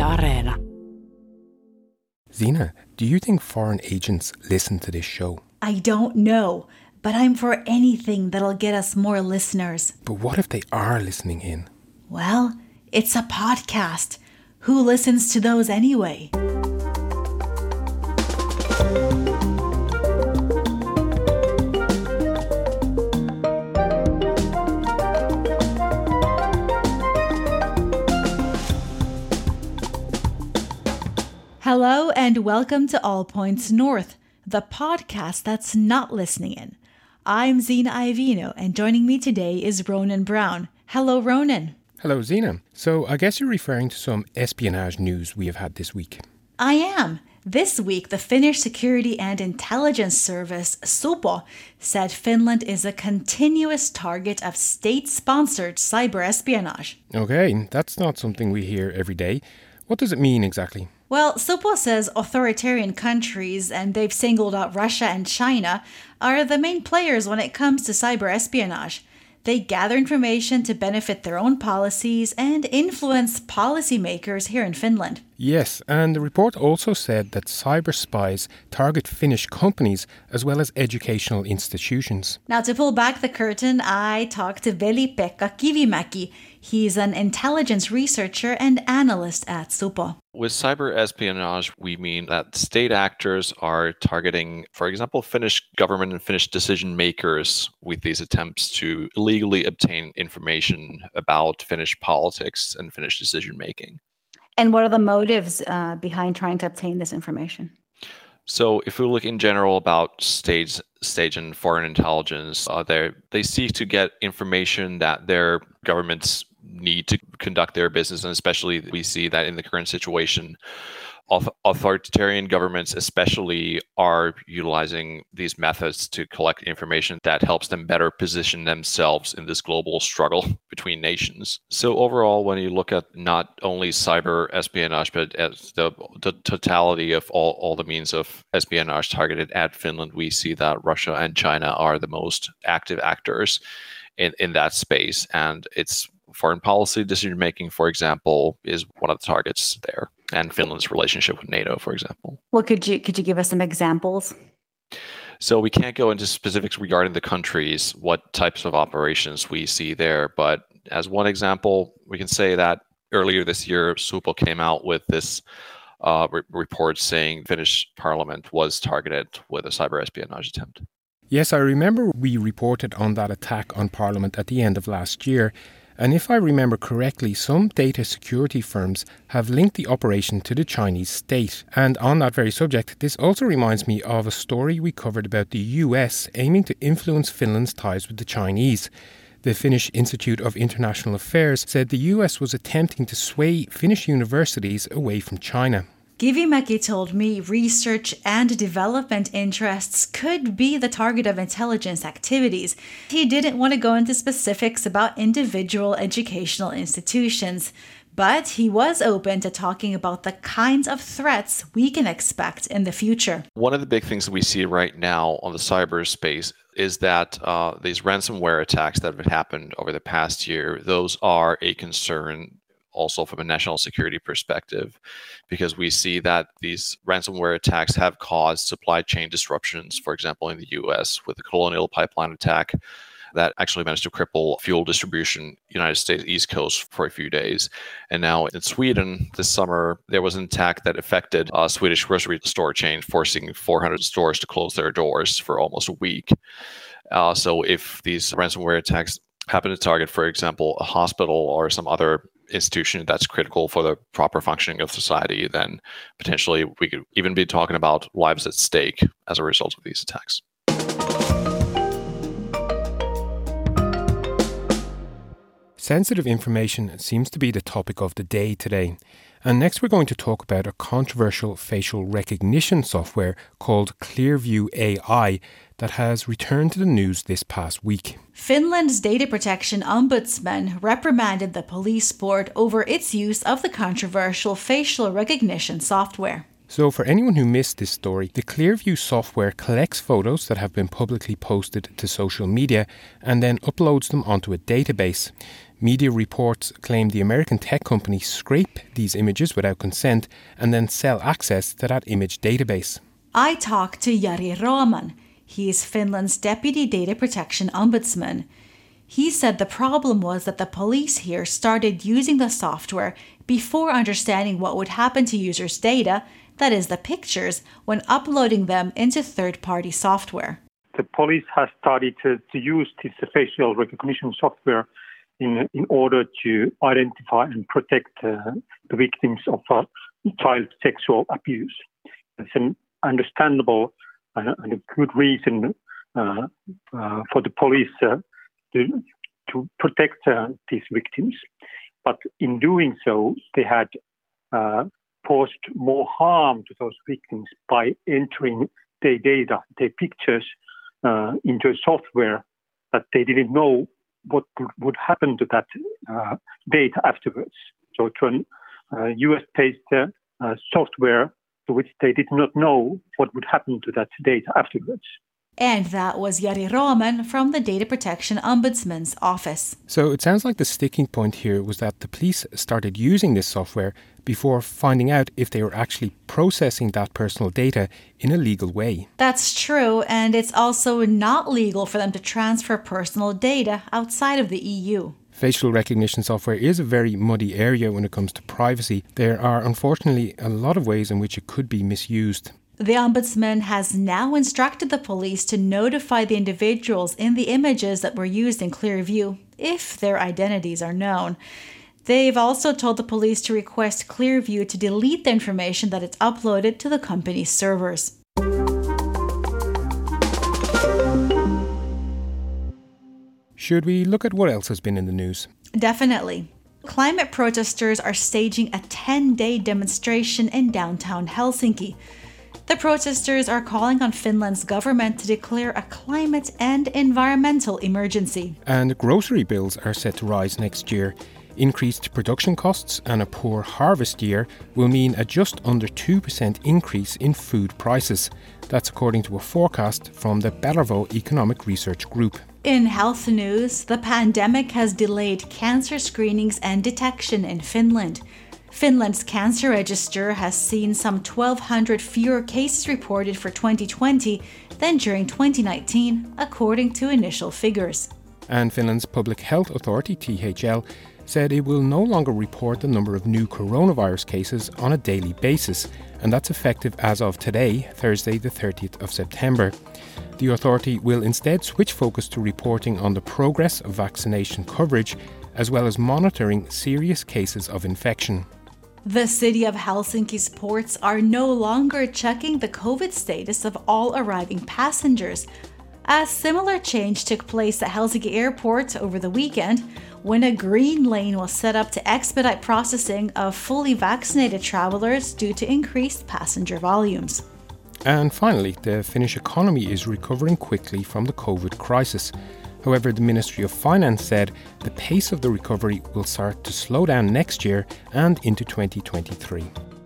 Areena. Zena, do you think foreign agents listen to this show? I don't know, but I'm for anything that'll get us more listeners. But what if they are listening in? Well, it's a podcast. Who listens to those anyway? Hello and welcome to All Points North, the podcast that's not listening in. I'm Zena Iovino, and joining me today is Ronan Brown. Hello, Ronan. Hello, Zena. So I guess you're referring to some espionage news we have had this week. I am. This week, the Finnish Security and Intelligence Service, Supo, said Finland is a continuous target of state-sponsored cyber espionage. Okay, that's not something we hear every day. What does it mean exactly? Well, Supo says authoritarian countries, and they've singled out Russia and China, are the main players when it comes to cyber espionage. They gather information to benefit their own policies and influence policymakers here in Finland. Yes, and the report also said that cyber spies target Finnish companies as well as educational institutions. Now, to pull back the curtain, I talked to Veli-Pekka Kivimäki. He's an intelligence researcher and analyst at Supo. With cyber espionage, we mean that state actors are targeting, for example, Finnish government and Finnish decision makers with these attempts to illegally obtain information about Finnish politics and Finnish decision making. And what are the motives behind trying to obtain this information? So if we look in general about state and foreign intelligence, they seek to get information that their governments need to conduct their business. And especially we see that in the current situation, authoritarian governments especially are utilizing these methods to collect information that helps them better position themselves in this global struggle between nations. So overall, when you look at not only cyber espionage, but as the totality of all the means of espionage targeted at Finland, we see that Russia and China are the most active actors in that space. And it's foreign policy decision-making, for example, is one of the targets there, and Finland's relationship with NATO, for example. Well, could you give us some examples? So we can't go into specifics regarding the countries, what types of operations we see there. But as one example, we can say that earlier this year, Supo came out with this report saying Finnish parliament was targeted with a cyber espionage attempt. Yes, I remember we reported on that attack on Parliament at the end of last year. And if I remember correctly, some data security firms have linked the operation to the Chinese state. And on that very subject, this also reminds me of a story we covered about the US aiming to influence Finland's ties with the Chinese. The Finnish Institute of International Affairs said the US was attempting to sway Finnish universities away from China. Kivimäki told me research and development interests could be the target of intelligence activities. He didn't want to go into specifics about individual educational institutions, but he was open to talking about the kinds of threats we can expect in the future. One of the big things that we see right now on the cyberspace is that these ransomware attacks that have happened over the past year, those are a concern also from a national security perspective, because we see that these ransomware attacks have caused supply chain disruptions, for example, in the US with the Colonial Pipeline attack that actually managed to cripple fuel distribution United States East Coast for a few days. And now in Sweden this summer, there was an attack that affected a Swedish grocery store chain, forcing 400 stores to close their doors for almost a week. So if these ransomware attacks happen to target, for example, a hospital or some other institution that's critical for the proper functioning of society, then potentially we could even be talking about lives at stake as a result of these attacks. Sensitive information seems to be the topic of the day today. And next we're going to talk about a controversial facial recognition software called Clearview AI that has returned to the news this past week. Finland's data protection ombudsman reprimanded the police board over its use of the controversial facial recognition software. So for anyone who missed this story, the Clearview software collects photos that have been publicly posted to social media and then uploads them onto a database. Media reports claim the American tech company scrape these images without consent and then sell access to that image database. I talked to Jari Raaman. He is Finland's Deputy Data Protection Ombudsman. He said the problem was that the police here started using the software before understanding what would happen to users' data, that is the pictures, when uploading them into third-party software. The police has started to use this facial recognition software in order to identify and protect the victims of child sexual abuse. It's an understandable and a good reason for the police to protect these victims. But in doing so, they had caused more harm to those victims by entering their data, their pictures, into a software that they didn't know what would happen to that data afterwards. So to a US-based software to which they did not know what would happen to that data afterwards. And that was Jari Raaman from the Data Protection Ombudsman's office. So it sounds like the sticking point here was that the police started using this software before finding out if they were actually processing that personal data in a legal way. That's true, and it's also not legal for them to transfer personal data outside of the EU. Facial recognition software is a very muddy area when it comes to privacy. There are unfortunately a lot of ways in which it could be misused. The Ombudsman has now instructed the police to notify the individuals in the images that were used in Clearview, if their identities are known. They've also told the police to request Clearview to delete the information that it's uploaded to the company's servers. Should we look at what else has been in the news? Definitely. Climate protesters are staging a 10-day demonstration in downtown Helsinki. The protesters are calling on Finland's government to declare a climate and environmental emergency. And grocery bills are set to rise next year. Increased production costs and a poor harvest year will mean a just under 2% increase in food prices. That's according to a forecast from the Bellervo Economic Research Group. In health news, the pandemic has delayed cancer screenings and detection in Finland. Finland's cancer register has seen some 1,200 fewer cases reported for 2020 than during 2019, according to initial figures. And Finland's Public Health Authority, THL, said it will no longer report the number of new coronavirus cases on a daily basis, and that's effective as of today, Thursday the 30th of September. The authority will instead switch focus to reporting on the progress of vaccination coverage, as well as monitoring serious cases of infection. The city of Helsinki's ports are no longer checking the COVID status of all arriving passengers. A similar change took place at Helsinki Airport over the weekend, when a green lane was set up to expedite processing of fully vaccinated travelers due to increased passenger volumes. And finally, the Finnish economy is recovering quickly from the COVID crisis. However, the Ministry of Finance said the pace of the recovery will start to slow down next year and into 2023.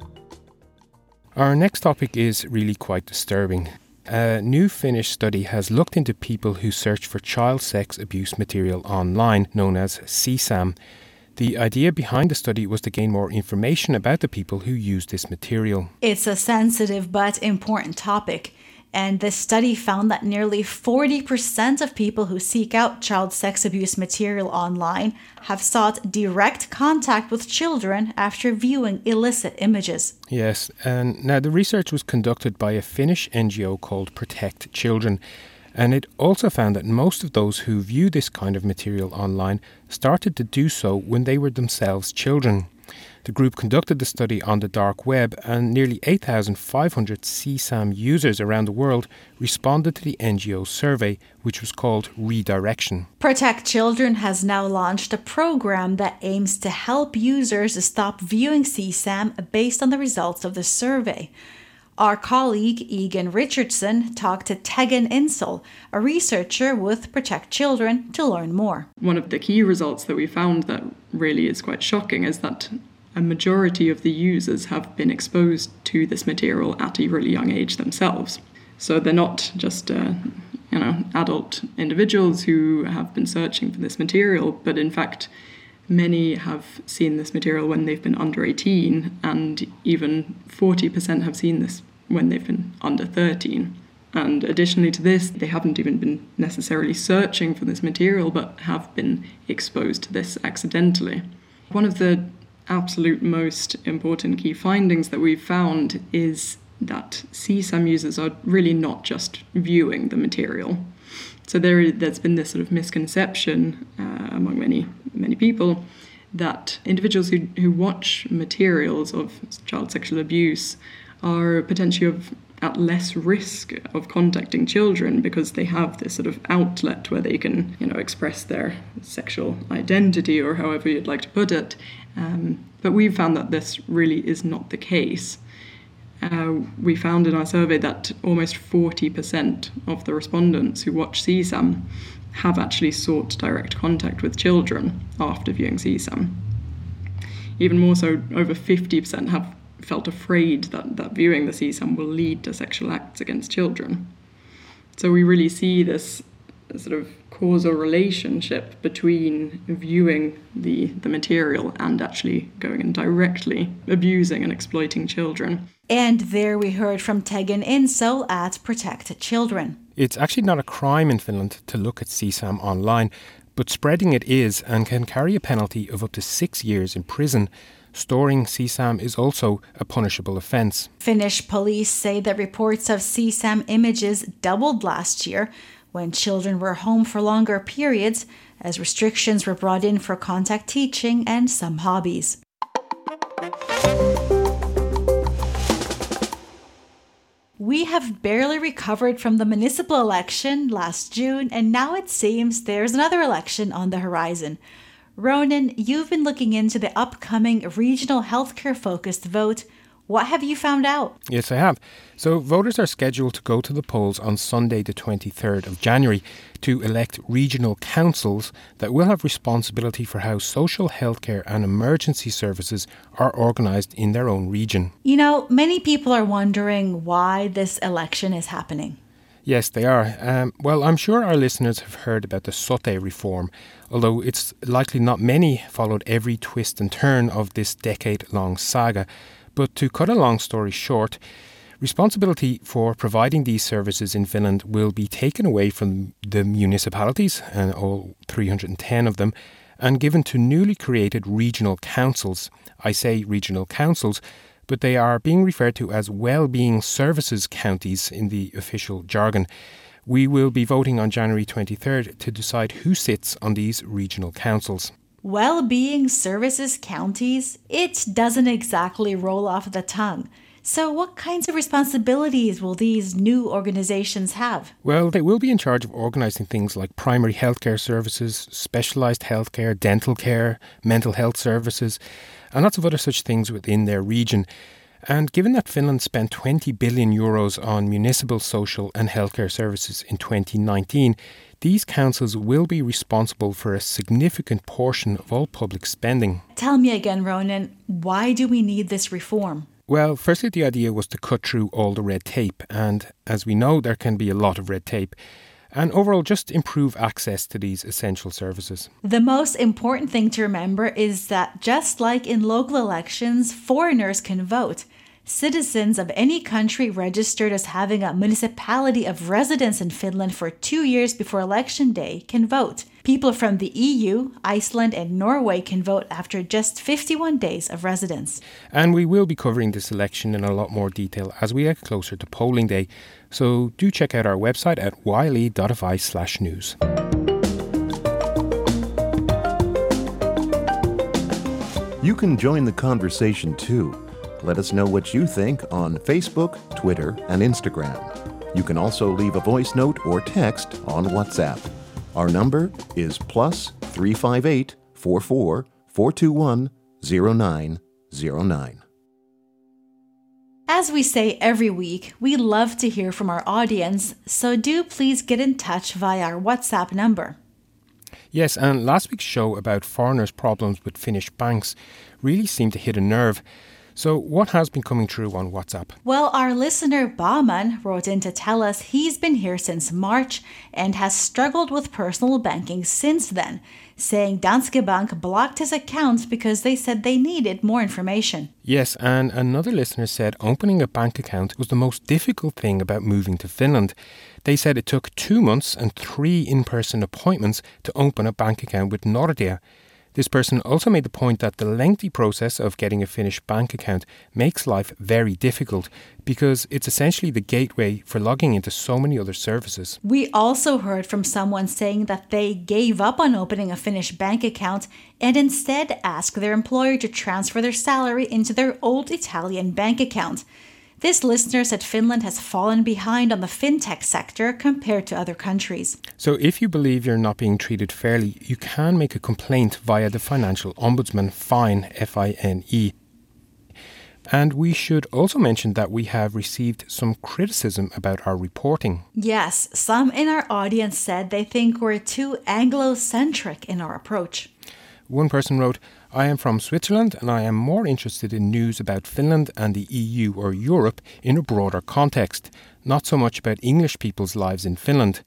Our next topic is really quite disturbing. A new Finnish study has looked into people who search for child sex abuse material online, known as CSAM. The idea behind the study was to gain more information about the people who use this material. It's a sensitive but important topic. And this study found that nearly 40% of people who seek out child sex abuse material online have sought direct contact with children after viewing illicit images. Yes, and now the research was conducted by a Finnish NGO called Protect Children. And it also found that most of those who view this kind of material online started to do so when they were themselves children. The group conducted the study on the dark web, and nearly 8,500 CSAM users around the world responded to the NGO survey, which was called Redirection. Protect Children has now launched a program that aims to help users stop viewing CSAM based on the results of the survey. Our colleague Egan Richardson talked to Tegan Insel, a researcher with Protect Children, to learn more. One of the key results that we found that really is quite shocking is that a majority of the users have been exposed to this material at a really young age themselves. So they're not just adult individuals who have been searching for this material, but in fact Many have seen this material when they've been under 18, and even 40% have seen this when they've been under 13. And additionally to this, they haven't even been necessarily searching for this material, but have been exposed to this accidentally. One of the absolute most important key findings that we've found is that CSAM users are really not just viewing the material. So there's been this sort of misconception among many people that individuals who watch materials of child sexual abuse are potentially at less risk of contacting children because they have this sort of outlet where they can, express their sexual identity, or however you'd like to put it. But we've found that this really is not the case. We found in our survey that almost 40% of the respondents who watch CSAM have actually sought direct contact with children after viewing CSAM. Even more so, over 50% have felt afraid that viewing the CSAM will lead to sexual acts against children. So we really see this sort of causal relationship between viewing the material and actually going and directly abusing and exploiting children. And there we heard from Tegan Insel at Protect Children. It's actually not a crime in Finland to look at CSAM online, but spreading it is and can carry a penalty of up to 6 years in prison. Storing CSAM is also a punishable offence. Finnish police say that reports of CSAM images doubled last year when children were home for longer periods, as restrictions were brought in for contact teaching and some hobbies. We have barely recovered from the municipal election last June, and now it seems there's another election on the horizon. Ronan, you've been looking into the upcoming regional healthcare-focused vote. What have you found out? Yes, I have. So voters are scheduled to go to the polls on Sunday the 23rd of January to elect regional councils that will have responsibility for how social healthcare and emergency services are organised in their own region. Many people are wondering why this election is happening. Yes, they are. Well, I'm sure our listeners have heard about the SOTE reform, although it's likely not many followed every twist and turn of this decade-long saga. But to cut a long story short, responsibility for providing these services in Finland will be taken away from the municipalities, and all 310 of them, and given to newly created regional councils. I say regional councils, but they are being referred to as well-being services counties in the official jargon. We will be voting on January 23rd to decide who sits on these regional councils. Well-being services counties? It doesn't exactly roll off the tongue. So what kinds of responsibilities will these new organizations have? Well, they will be in charge of organising things like primary healthcare services, specialised healthcare, dental care, mental health services, and lots of other such things within their region. And given that Finland spent 20 billion euros on municipal social and healthcare services in 2019, these councils will be responsible for a significant portion of all public spending. Tell me again, Ronan, why do we need this reform? Well, firstly, the idea was to cut through all the red tape, and as we know, there can be a lot of red tape, and overall just improve access to these essential services. The most important thing to remember is that just like in local elections, foreigners can vote. Citizens of any country registered as having a municipality of residence in Finland for 2 years before election day can vote. People from the EU, Iceland and Norway can vote after just 51 days of residence. And we will be covering this election in a lot more detail as we get closer to polling day. So do check out our website at yle.fi/news. You can join the conversation too. Let us know what you think on Facebook, Twitter, and Instagram. You can also leave a voice note or text on WhatsApp. Our number is +358 44 421 0909. As we say every week, we love to hear from our audience, so do please get in touch via our WhatsApp number. Yes, and last week's show about foreigners' problems with Finnish banks really seemed to hit a nerve. So what has been coming through on WhatsApp? Well, our listener Bauman wrote in to tell us he's been here since March and has struggled with personal banking since then. saying Danske Bank blocked his account because they said they needed more information. Yes, and another listener said opening a bank account was the most difficult thing about moving to Finland. They said it took 2 months and 3 in-person appointments to open a bank account with Nordea. This person also made the point that the lengthy process of getting a Finnish bank account makes life very difficult because it's essentially the gateway for logging into so many other services. We also heard from someone saying that they gave up on opening a Finnish bank account and instead asked their employer to transfer their salary into their old Italian bank account. This listener said Finland has fallen behind on the fintech sector compared to other countries. So if you believe you're not being treated fairly, you can make a complaint via the Financial Ombudsman, FINE, F-I-N-E. And we should also mention that we have received some criticism about our reporting. Yes, some in our audience said they think we're too Anglo-centric in our approach. One person wrote, I am from Switzerland and I am more interested in news about Finland and the EU or Europe in a broader context, not so much about English people's lives in Finland.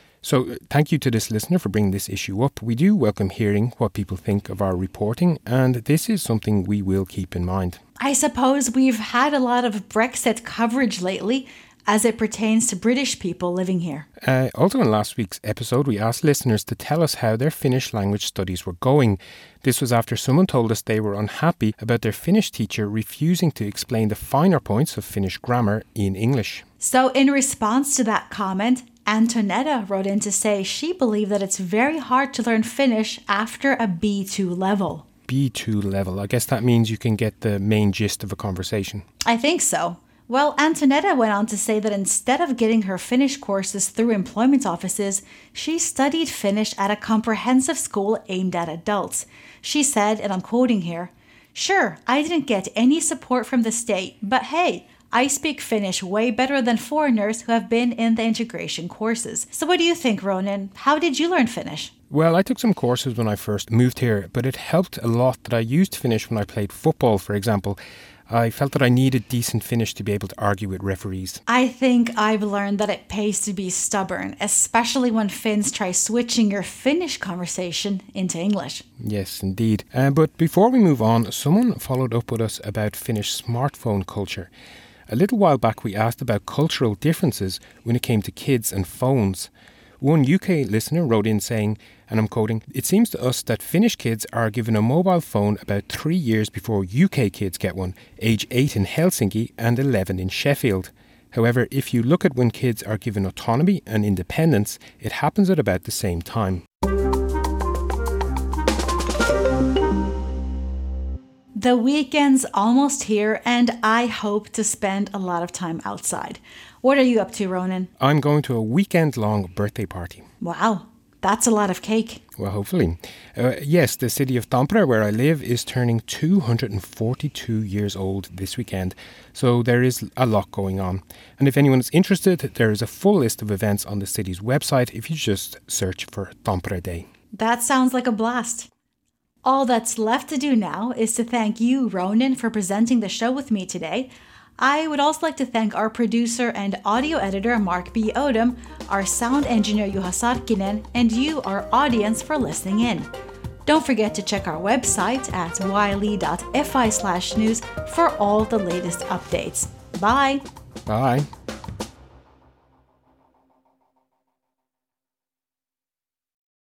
So thank you to this listener for bringing this issue up. We do welcome hearing what people think of our reporting, and this is something we will keep in mind. I suppose we've had a lot of Brexit coverage lately as it pertains to British people living here. Also in last week's episode, we asked listeners to tell us how their Finnish language studies were going. This was after someone told us they were unhappy about their Finnish teacher refusing to explain the finer points of Finnish grammar in English. So in response to that comment, Antonetta wrote in to say she believed that it's very hard to learn Finnish after a B2 level. B2 level. I guess that means you can get the main gist of a conversation. I think so. Well, Antonetta went on to say that instead of getting her Finnish courses through employment offices, she studied Finnish at a comprehensive school aimed at adults. She said, and I'm quoting here, "Sure, I didn't get any support from the state, but hey, I speak Finnish way better than foreigners who have been in the integration courses." So what do you think, Ronan? How did you learn Finnish? Well, I took some courses when I first moved here, but it helped a lot that I used Finnish when I played football, for example. I felt that I needed decent Finnish to be able to argue with referees. I think I've learned that it pays to be stubborn, especially when Finns try switching your Finnish conversation into English. Yes, indeed. But before we move on, someone followed up with us about Finnish smartphone culture. A little while back we asked about cultural differences when it came to kids and phones. One UK listener wrote in saying, and I'm quoting, "It seems to us that Finnish kids are given a mobile phone about 3 years before UK kids get one, age 8 in Helsinki and 11 in Sheffield. However, if you look at when kids are given autonomy and independence, it happens at about the same time." The weekend's almost here, and I hope to spend a lot of time outside. What are you up to, Ronan? I'm going to a weekend-long birthday party. Wow, that's a lot of cake. Well, hopefully. Yes, the city of Tampere, where I live, is turning 242 years old this weekend, so there is a lot going on. And if anyone is interested, there is a full list of events on the city's website if you just search for Tampere Day. That sounds like a blast. All that's left to do now is to thank you, Ronan, for presenting the show with me today. I would also like to thank our producer and audio editor, Mark B. Odom, our sound engineer, Juha Sarkkinen, and you, our audience, for listening in. Don't forget to check our website at yle.fi/news for all the latest updates. Bye! Bye!